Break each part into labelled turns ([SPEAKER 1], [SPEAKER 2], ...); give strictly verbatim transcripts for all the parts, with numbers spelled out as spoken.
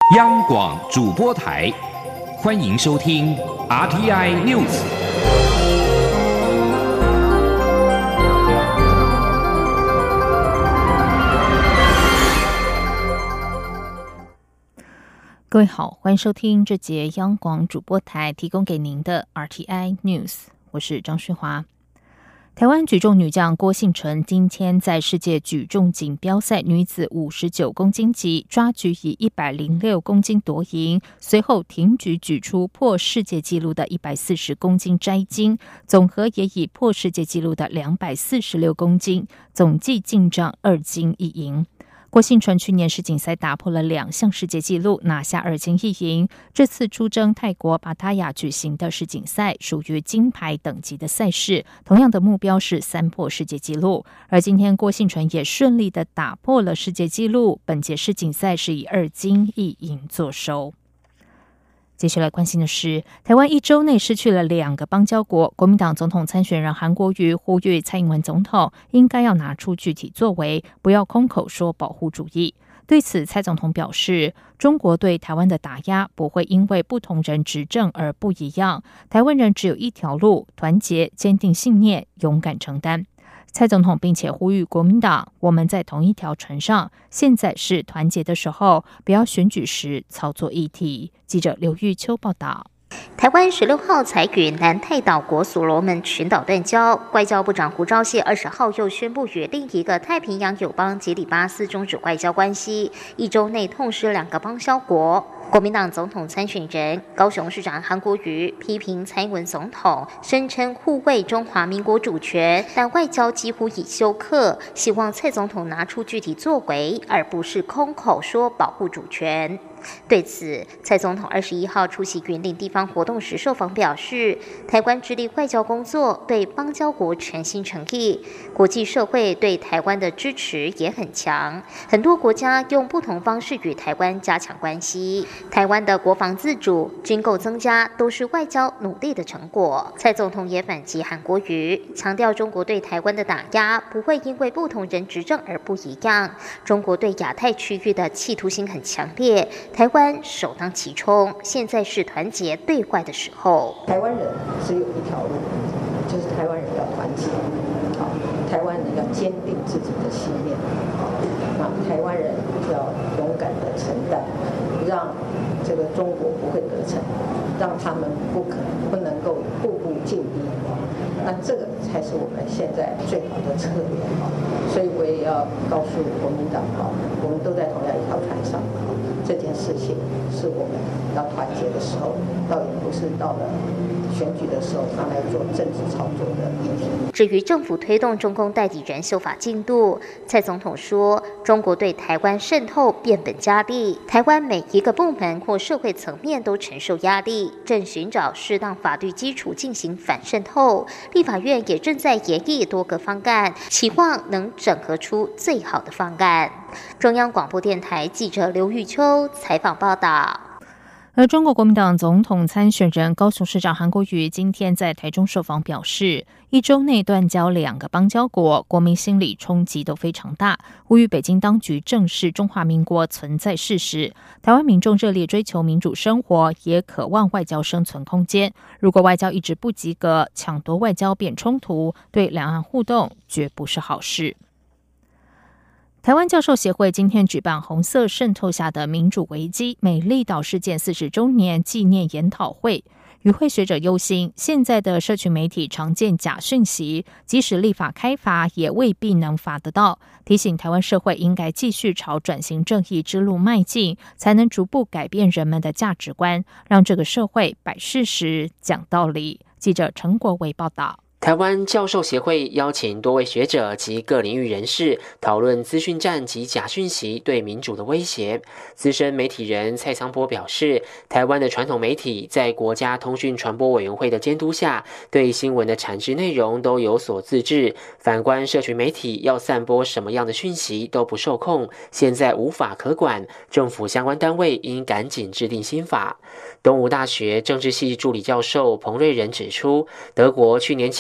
[SPEAKER 1] 央广主播台，欢迎收听 R T I News。
[SPEAKER 2] 各位好，欢迎收听这节央广主播台提供给您的 R T I News， 我是张旭华。台湾举重女将郭婞淳今天在世界举重锦标赛女子五十九公斤级抓举以一百零六公斤夺银，随后挺举举出破世界纪录的一百四十公斤摘金，总和也以破世界纪录的两百四十六公斤，总计进账二金一银。郭婞淳去年世锦赛打破了两项世界纪录，拿下二金一银。这次出征泰国芭塔雅举行的世锦赛属于金牌等级的赛事，同样的目标是三破世界纪录。而今天郭婞淳也顺利的打破了世界纪录，本届世锦赛是以二金一银作收。接下来关心的是，台湾一周内失去了两个邦交国，国民党总统参选人韩国瑜呼吁蔡英文总统应该要拿出具体作为，不要空口说保护主义。对此，蔡总统表示，中国对台湾的打压不会因为不同人执政而不一样，台湾人只有一条路，团结、坚定信念、勇敢承担。蔡总统并且呼吁国民党，我们在同一条船上，现在是团结的时候，不要选举时操作议题。记者刘玉秋报道。
[SPEAKER 3] 台湾十六号才与南太岛国所罗门群岛断交，外交部长胡昭燮二十号又宣布与另一个太平洋友邦吉里巴斯终止外交关系，一周内痛失两个邦交国。国民党总统参选人高雄市长韩国瑜批评蔡英文总统声称护卫中华民国主权，但外交几乎已休克，希望蔡总统拿出具体作为，而不是空口说保护主权。对此，蔡总统二十一号出席云林地方活动时受访表示，台湾致力外交工作，对邦交国诚心诚意，国际社会对台湾的支持也很强，很多国家用不同方式与台湾加强关系。台湾的国防自主、军购增加都是外交努力的成果。蔡总统也反击韩国瑜，强调中国对台湾的打压不会因为不同人执政而不一样，中国对亚太区域的企图心很强烈，台湾首当其冲，现在是团结对外的时候。
[SPEAKER 4] 台湾人只有一条路，就是台湾人要团结，好，台湾人要坚定自己的信念，好，那台湾人要勇敢的承担，让这个中国不会得逞，让他们不可不能够步步进逼，那这个才是我们现在最好的策略。所以我也要告诉国民党，我们都在同样一条船上，这件事情是我们要团结的时候，倒也不是到了选举的时候拿来做政治操作的议题。
[SPEAKER 3] 至于政府推动中共代理人修法进度，蔡总统说，中国对台湾渗透变本加厉，台湾每一个部门或社会层面都承受压力，正寻找适当法律基础进行反渗透。立法院也正在研议多个方案，期望能整合出最好的方案。中央广播电台记者刘玉秋采访报道。
[SPEAKER 2] 而中国国民党总统参选人高雄市长韩国瑜今天在台中受访表示，一周内断交两个邦交国，国民心理冲击都非常大，呼吁北京当局正视中华民国存在事实。台湾民众热烈追求民主生活，也渴望外交生存空间。如果外交一直不及格，抢夺外交变冲突，对两岸互动绝不是好事。台湾教授协会今天举办红色渗透下的民主危机美丽岛事件四十周年纪念研讨会，与会学者忧心，现在的社群媒体常见假讯息，即使立法开罚也未必能罚得到，提醒台湾社会应该继续朝转型正义之路迈进，才能逐步改变人们的价值观，让这个社会摆事实讲道理。记者陈国维报道。
[SPEAKER 5] 台湾教授协会邀请多位学者及各领域人士讨论资讯战及假讯息对民主的威胁。资深媒体人蔡昌波表示，台湾的传统媒体在国家通讯传播委员会的监督下，对新闻的产制内容都有所自治。反观社群媒体要散播什么样的讯息都不受控，现在无法可管，政府相关单位应赶紧制定新法。东吴大学政治系助理教授彭瑞仁指出，德国去年起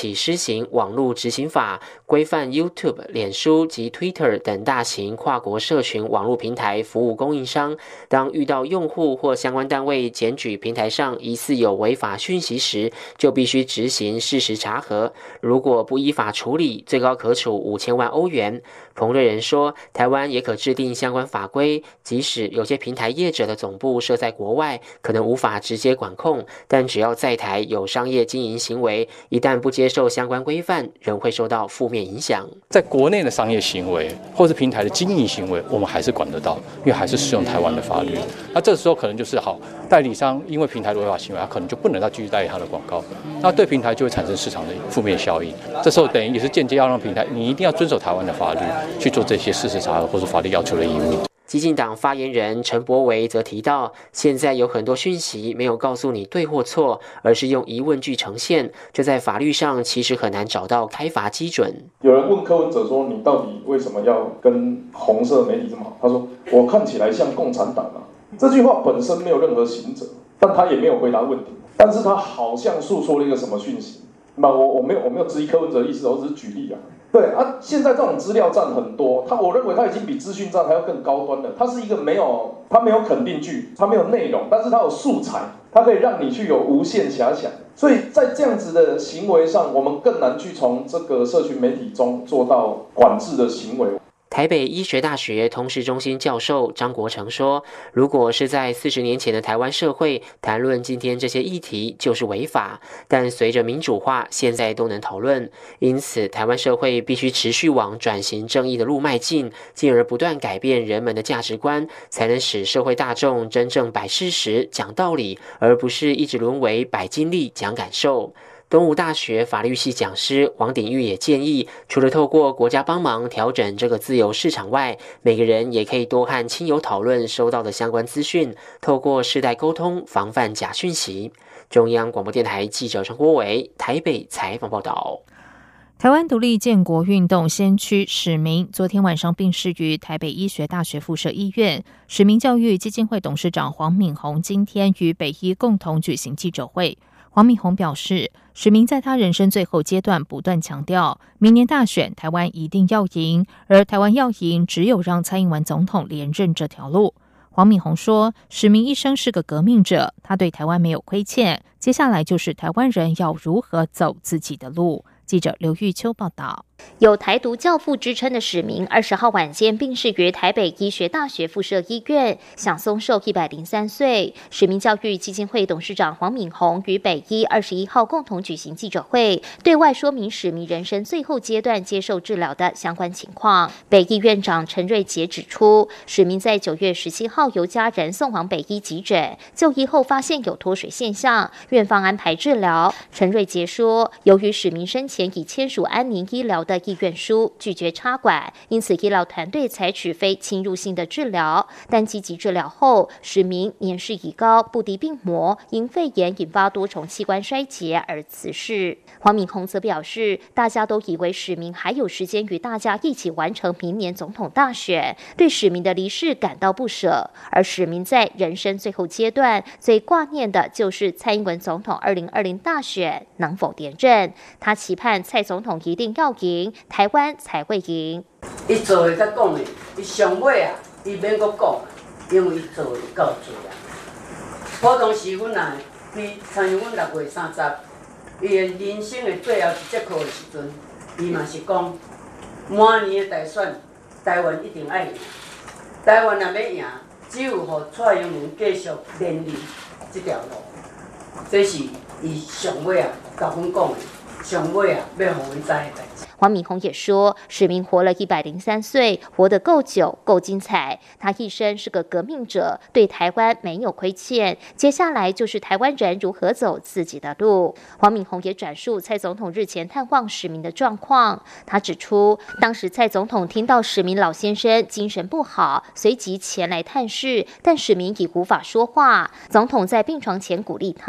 [SPEAKER 5] 起施行网络执行法，规范 YouTube、脸书及 Twitter 等大型跨国社群网络平台服务供应商，当遇到用户或相关单位检举平台上疑似有违法讯息时，就必须执行事实查核，如果不依法处理，最高可处五千万欧元。彭瑞仁说，台湾也可制定相关法规，即使有些平台业者的总部设在国外，可能无法直接管控，但只要在台有商业经营行为，一旦不接受相关规范，仍会受到负面影响。
[SPEAKER 6] 在国内的商业行为或是平台的经营行为，我们还是管得到，因为还是适用台湾的法律。那这时候可能就是好，代理商因为平台的违法行为，他可能就不能再继续代理他的广告，那对平台就会产生市场的负面效应。这时候等于也是间接要让平台，你一定要遵守台湾的法律，去做这些事实查核或是法律要求的义务。
[SPEAKER 5] 基进党发言人陈柏惟则提到，现在有很多讯息没有告诉你对或错，而是用疑问句呈现，这在法律上其实很难找到开罚基准。
[SPEAKER 7] 有人问柯文哲说，你到底为什么要跟红色媒体这么好？他说，我看起来像共产党啊。这句话本身没有任何刑责，但他也没有回答问题，但是他好像诉说了一个什么讯息。那我我没有我没有质疑柯文哲的意思，我只是举例啊。对啊，现在这种资料站很多，他我认为他已经比资讯站还要更高端了。它是一个没有，它没有肯定句，它没有内容，但是它有素材，它可以让你去有无限遐想。所以在这样子的行为上，我们更难去从这个社群媒体中做到管制的行为。
[SPEAKER 5] 台北医学大学通识中心教授张国成说，如果是在四十年前的台湾社会谈论今天这些议题就是违法，但随着民主化，现在都能讨论，因此台湾社会必须持续往转型正义的路迈进，进而不断改变人们的价值观，才能使社会大众真正摆事实讲道理，而不是一直沦为摆经历讲感受。东吴大学法律系讲师王鼎玉也建议，除了透过国家帮忙调整这个自由市场外，每个人也可以多和亲友讨论收到的相关资讯，透过世代沟通，防范假讯息。中央广播电台记者陈国伟台北采访报道。
[SPEAKER 2] 台湾独立建国运动先驱史明昨天晚上病逝于台北医学大学附设医院。史明教育基金会董事长黄敏宏今天与北医共同举行记者会。黄敏宏表示，史明在他人生最后阶段不断强调，明年大选台湾一定要赢，而台湾要赢，只有让蔡英文总统连任这条路。黄敏宏说，史明一生是个革命者，他对台湾没有亏欠，接下来就是台湾人要如何走自己的路。记者刘玉秋报道。
[SPEAKER 3] 有台独教父之称的史明，二十号晚间病逝于台北医学大学附设医院，享松寿一百零三岁。史明教育基金会董事长黄敏宏与北医二十一号共同举行记者会，对外说明史明人生最后阶段接受治疗的相关情况。北医院长陈瑞杰指出，史明在九月十七号由家人送往北医急诊，就医后发现有脱水现象，院方安排治疗。陈瑞杰说，由于史明生前已签署安宁医疗的意愿书，拒绝插管，因此医疗团队采取非侵入性的治疗。但积极治疗后，史明年事已高，不敌病魔，因肺炎引发多重器官衰竭而辞世。黄敏宏则表示，大家都以为史明还有时间与大家一起完成明年总统大选，对史明的离世感到不舍。而史明在人生最后阶段最挂念的就是蔡英文总统二零二零大选能否连任。他期盼蔡总统一定要赢，台湾才会赢。
[SPEAKER 8] 伊做的甲讲的，伊上尾啊，伊免阁讲，因为伊做的够多啊。普通时阮啊，比参像阮六月三十，伊的人生的最后一节课的时阵，伊嘛是讲，明年的大选，台湾一定爱赢。台湾若要赢，只有互蔡英文继续连任这条路，这是伊上尾啊，甲阮讲的。上尾啊，要互阮知的代志。
[SPEAKER 3] 黄敏宏也说，史明活了一百零三岁，活得够久，够精彩。他一生是个革命者，对台湾没有亏欠。接下来就是台湾人如何走自己的路。黄敏宏也转述蔡总统日前探望史明的状况。他指出，当时蔡总统听到史明老先生精神不好，随即前来探视，但史明已无法说话。总统在病床前鼓励他。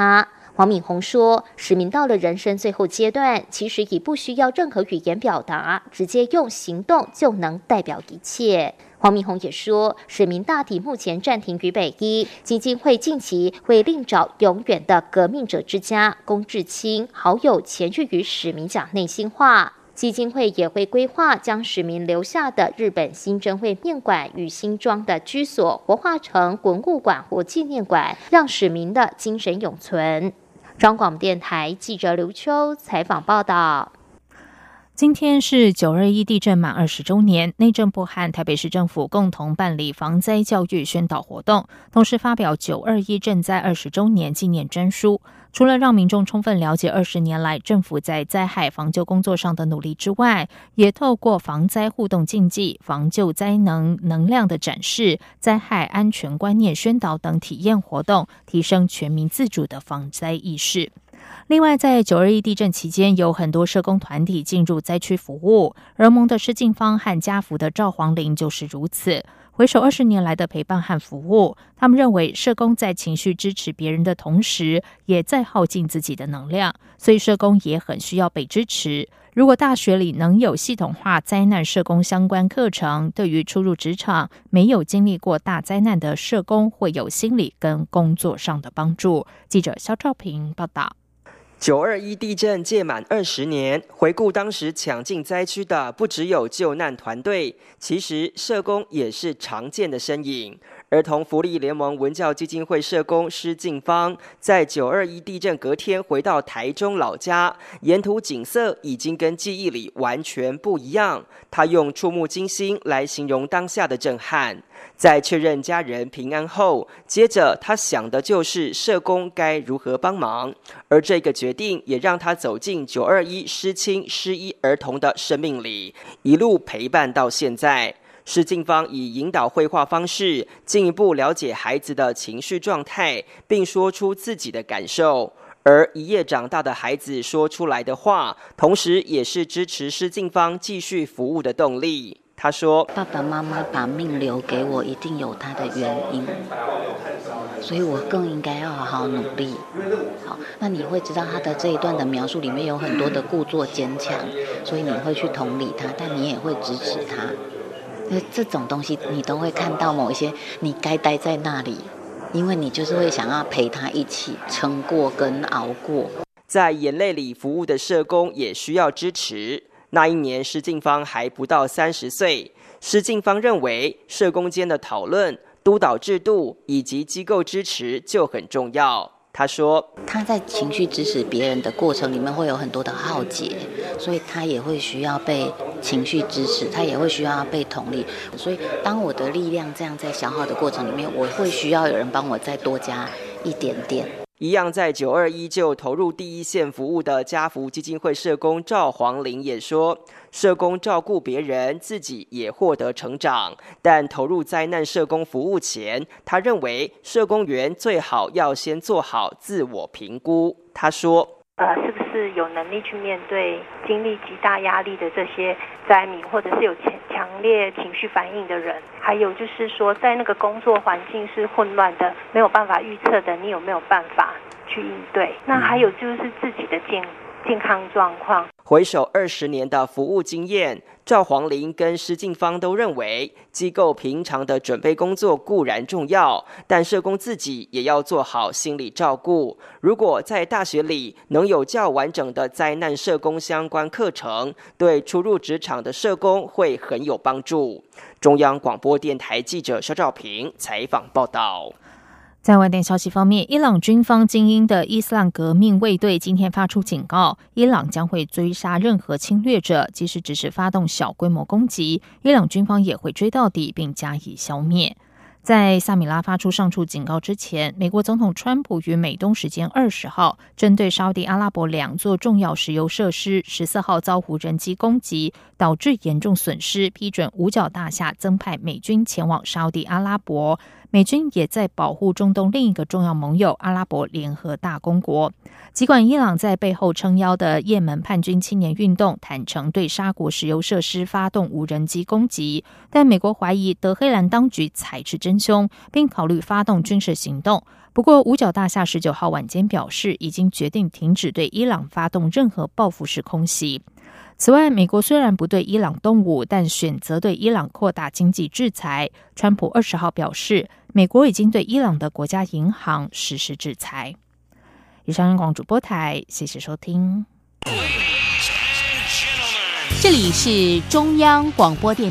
[SPEAKER 3] 黄敏宏说，史明到了人生最后阶段，其实已不需要任何语言表达，直接用行动就能代表一切。黄敏宏也说，史明大体目前暂停于北医，基金会近期会另找永远的革命者之家龚志清好友前去与史明讲内心话。基金会也会规划将史明留下的日本新珍会面馆与新庄的居所活化成文物馆或纪念馆，让史明的精神永存。中广电台记者刘秋采访报道。
[SPEAKER 2] 今天是九二一地震满二十周年，内政部和台北市政府共同办理防灾教育宣导活动，同时发表九二一震灾二十周年纪念专书。除了让民众充分了解二十年来政府在灾害防救工作上的努力之外，也透过防灾互动竞技、防救灾能能量的展示、灾害安全观念宣导等体验活动，提升全民自主的防灾意识。另外，在九二一地震期间，有很多社工团体进入灾区服务，儿盟的施静芳和家福的赵黄玲就是如此。回首二十年来的陪伴和服务，他们认为社工在情绪支持别人的同时，也在耗尽自己的能量，所以社工也很需要被支持。如果大学里能有系统化灾难社工相关课程，对于初入职场没有经历过大灾难的社工会有心理跟工作上的帮助。记者肖兆平报道。
[SPEAKER 9] 九二一地震届满二十年，回顾当时抢进灾区的不只有救难团队，其实社工也是常见的身影。儿童福利联盟文教基金会社工施静芳，在九二一地震隔天回到台中老家，沿途景色已经跟记忆里完全不一样。他用触目惊心来形容当下的震撼。在确认家人平安后，接着他想的就是社工该如何帮忙，而这个决定也让他走进九二一失亲失医儿童的生命里，一路陪伴到现在。施静芳以引导绘画方式，进一步了解孩子的情绪状态，并说出自己的感受。而一夜长大的孩子说出来的话，同时也是支持施静芳继续服务的动力。他说：“
[SPEAKER 10] 爸爸妈妈把命留给我，一定有他的原因，所以我更应该要好好努力。好，那你会知道他的这一段的描述里面有很多的故作坚强，所以你会去同理他，但你也会支持他。这种东西你都会看到某一些你该待在那里，因为你就是会想要陪他一起撑过跟熬过。”
[SPEAKER 9] 在眼泪里服务的社工也需要支持。那一年施静芳还不到三十岁，施静芳认为社工间的讨论、督导制度以及机构支持就很重要。他说，
[SPEAKER 10] 他在情绪支持别人的过程里面会有很多的耗竭，所以他也会需要被情绪支持，他也会需要被同理。所以当我的力量这样在消耗的过程里面，我会需要有人帮我再多加一点点。
[SPEAKER 9] 一样在九二一就投入第一线服务的家福基金会社工赵黄玲也说，社工照顾别人，自己也获得成长。但投入灾难社工服务前，他认为社工员最好要先做好自我评估。他说，
[SPEAKER 11] 呃，是不是有能力去面对经历极大压力的这些灾民，或者是有强强烈情绪反应的人？还有就是说，在那个工作环境是混乱的，没有办法预测的，你有没有办法去应对？那还有就是自己的健健康状况。
[SPEAKER 9] 回首二十年的服务经验，赵黄玲跟施静芳都认为，机构平常的准备工作固然重要，但社工自己也要做好心理照顾。如果在大学里能有较完整的灾难社工相关课程，对初入职场的社工会很有帮助。中央广播电台记者肖兆平采访报道。
[SPEAKER 2] 在外电消息方面，伊朗军方精英的伊斯兰革命卫队今天发出警告，伊朗将会追杀任何侵略者，即使只是发动小规模攻击，伊朗军方也会追到底并加以消灭。在萨米拉发出上述警告之前，美国总统川普于美东时间二十号针对沙地阿拉伯两座重要石油设施十四号遭无人机攻击，导致严重损失，批准五角大厦增派美军前往沙地阿拉伯。 美军也在保护中东另一个重要盟友阿拉伯联合大公国。尽管伊朗在背后撑腰的也门叛军青年运动坦承对沙国石油设施发动无人机攻击，但美国怀疑德黑兰当局才是真凶，并考虑发动军事行动。不过五角大厦十九号晚间表示，已经决定停止对伊朗发动任何报复式空袭。此外，美国虽然不对伊朗动武，但选择对伊朗扩大经济制裁。川普二十号表示，美国已经对伊朗的国家银行实施制裁。以上央广主播台，谢谢收听。
[SPEAKER 12] 这里是中央广播电